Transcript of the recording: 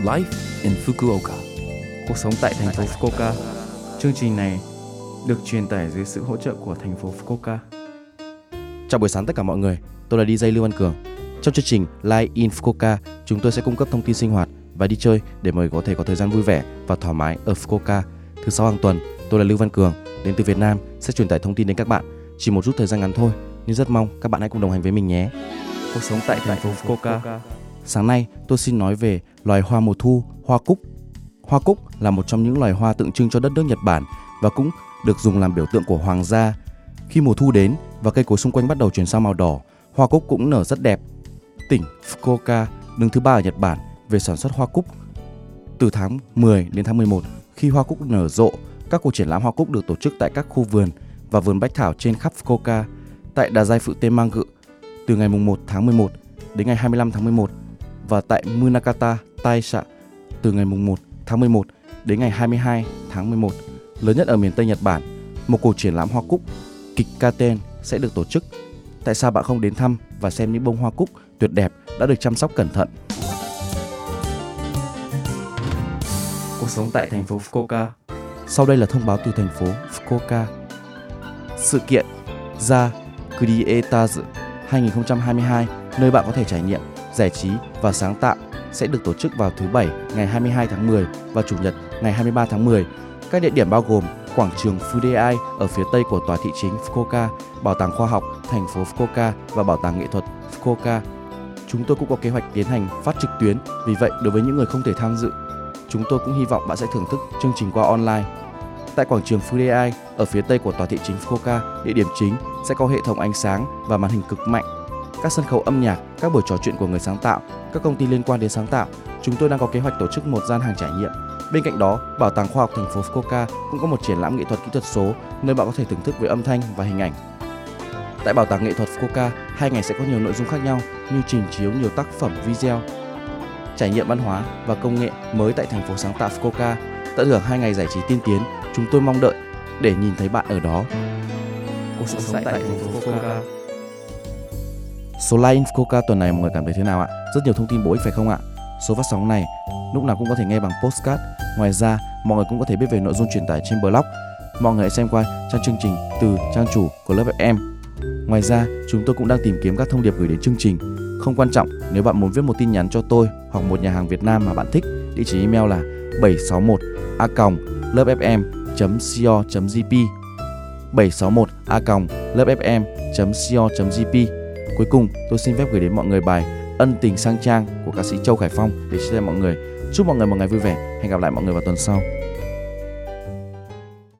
Life in Fukuoka. Cuộc sống tại thành phố Fukuoka. Chương trình này được truyền tải dưới sự hỗ trợ của thành phố Fukuoka. Chào buổi sáng tất cả mọi người, tôi là DJ Lưu Văn Cường. Trong chương trình Live in Fukuoka, chúng tôi sẽ cung cấp thông tin sinh hoạt và đi chơi để mọi người có thể có thời gian vui vẻ và thoải mái ở Fukuoka. Thứ 6 hàng tuần, tôi là Lưu Văn Cường, đến từ Việt Nam sẽ truyền tải thông tin đến các bạn. Chỉ một chút thời gian ngắn thôi, nhưng rất mong các bạn hãy cùng đồng hành với mình nhé. Cuộc sống tại thành phố Fukuoka. Sáng nay, tôi xin nói về loài hoa mùa thu, hoa cúc. Hoa cúc là một trong những loài hoa tượng trưng cho đất nước Nhật Bản và cũng được dùng làm biểu tượng của hoàng gia. Khi mùa thu đến và cây cối xung quanh bắt đầu chuyển sang màu đỏ, hoa cúc cũng nở rất đẹp. Tỉnh Fukuoka đứng thứ 3 ở Nhật Bản về sản xuất hoa cúc. Từ tháng 10 đến tháng 11, khi hoa cúc nở rộ, các cuộc triển lãm hoa cúc được tổ chức tại các khu vườn và vườn bách thảo trên khắp Fukuoka. Tại Đà Giai Phự Tenmanggu từ ngày 1 tháng 11 đến ngày 25 tháng 11 và tại Munakata Taisha từ ngày 1 tháng 11 đến ngày 22 tháng 11, lớn nhất ở miền Tây Nhật Bản, một cuộc triển lãm hoa cúc Kikkaten sẽ được tổ chức. Tại sao bạn không đến thăm và xem những bông hoa cúc tuyệt đẹp đã được chăm sóc cẩn thận? Cuộc sống tại thành phố Fukuoka. Sau đây là thông báo từ thành phố Fukuoka. Sự kiện Za Creators 2022, nơi bạn có thể trải nghiệm, giải trí và sáng tạo, sẽ được tổ chức vào thứ Bảy ngày 22 tháng 10 và Chủ nhật ngày 23 tháng 10. Các địa điểm bao gồm quảng trường Fudeai ở phía tây của tòa thị chính Fukuoka, Bảo tàng Khoa học thành phố Fukuoka và Bảo tàng Nghệ thuật Fukuoka. Chúng tôi cũng có kế hoạch tiến hành phát trực tuyến, vì vậy đối với những người không thể tham dự, chúng tôi cũng hy vọng bạn sẽ thưởng thức chương trình qua online. Tại quảng trường Fudeai ở phía tây của tòa thị chính Fukuoka, địa điểm chính sẽ có hệ thống ánh sáng và màn hình cực mạnh, các sân khấu âm nhạc, các buổi trò chuyện của người sáng tạo, các công ty liên quan đến sáng tạo. Chúng tôi đang có kế hoạch tổ chức một gian hàng trải nghiệm. Bên cạnh đó, Bảo tàng Khoa học thành phố Fukuoka cũng có một triển lãm nghệ thuật kỹ thuật số, nơi bạn có thể thưởng thức với âm thanh và hình ảnh. Tại Bảo tàng Nghệ thuật Fukuoka, 2 ngày sẽ có nhiều nội dung khác nhau như trình chiếu nhiều tác phẩm video, trải nghiệm văn hóa và công nghệ mới tại thành phố sáng tạo Fukuoka. Tận hưởng 2 ngày giải trí tiên tiến, chúng tôi mong đợi để nhìn thấy bạn ở đó. Cuộc sống tại thành phố Fukuoka. Số Live in Fukuoka tuần này mọi người cảm thấy thế nào ạ? Rất nhiều thông tin bổ ích phải không ạ? Số phát sóng này lúc nào cũng có thể nghe bằng podcast. Ngoài ra, mọi người cũng có thể biết về nội dung truyền tải trên blog. Mọi người hãy xem qua trang chương trình từ trang chủ của lớp FM. Ngoài ra, chúng tôi cũng đang tìm kiếm các thông điệp gửi đến chương trình. Không quan trọng, nếu bạn muốn viết một tin nhắn cho tôi hoặc một nhà hàng Việt Nam mà bạn thích, địa chỉ email là 761a.lớpfm.co.jp 761a.lớpfm.co.jp. Cuối cùng, tôi xin phép gửi đến mọi người bài Ân tình sang trang của ca sĩ Châu Khải Phong để chia sẻ mọi người. Chúc mọi người một ngày vui vẻ. Hẹn gặp lại mọi người vào tuần sau.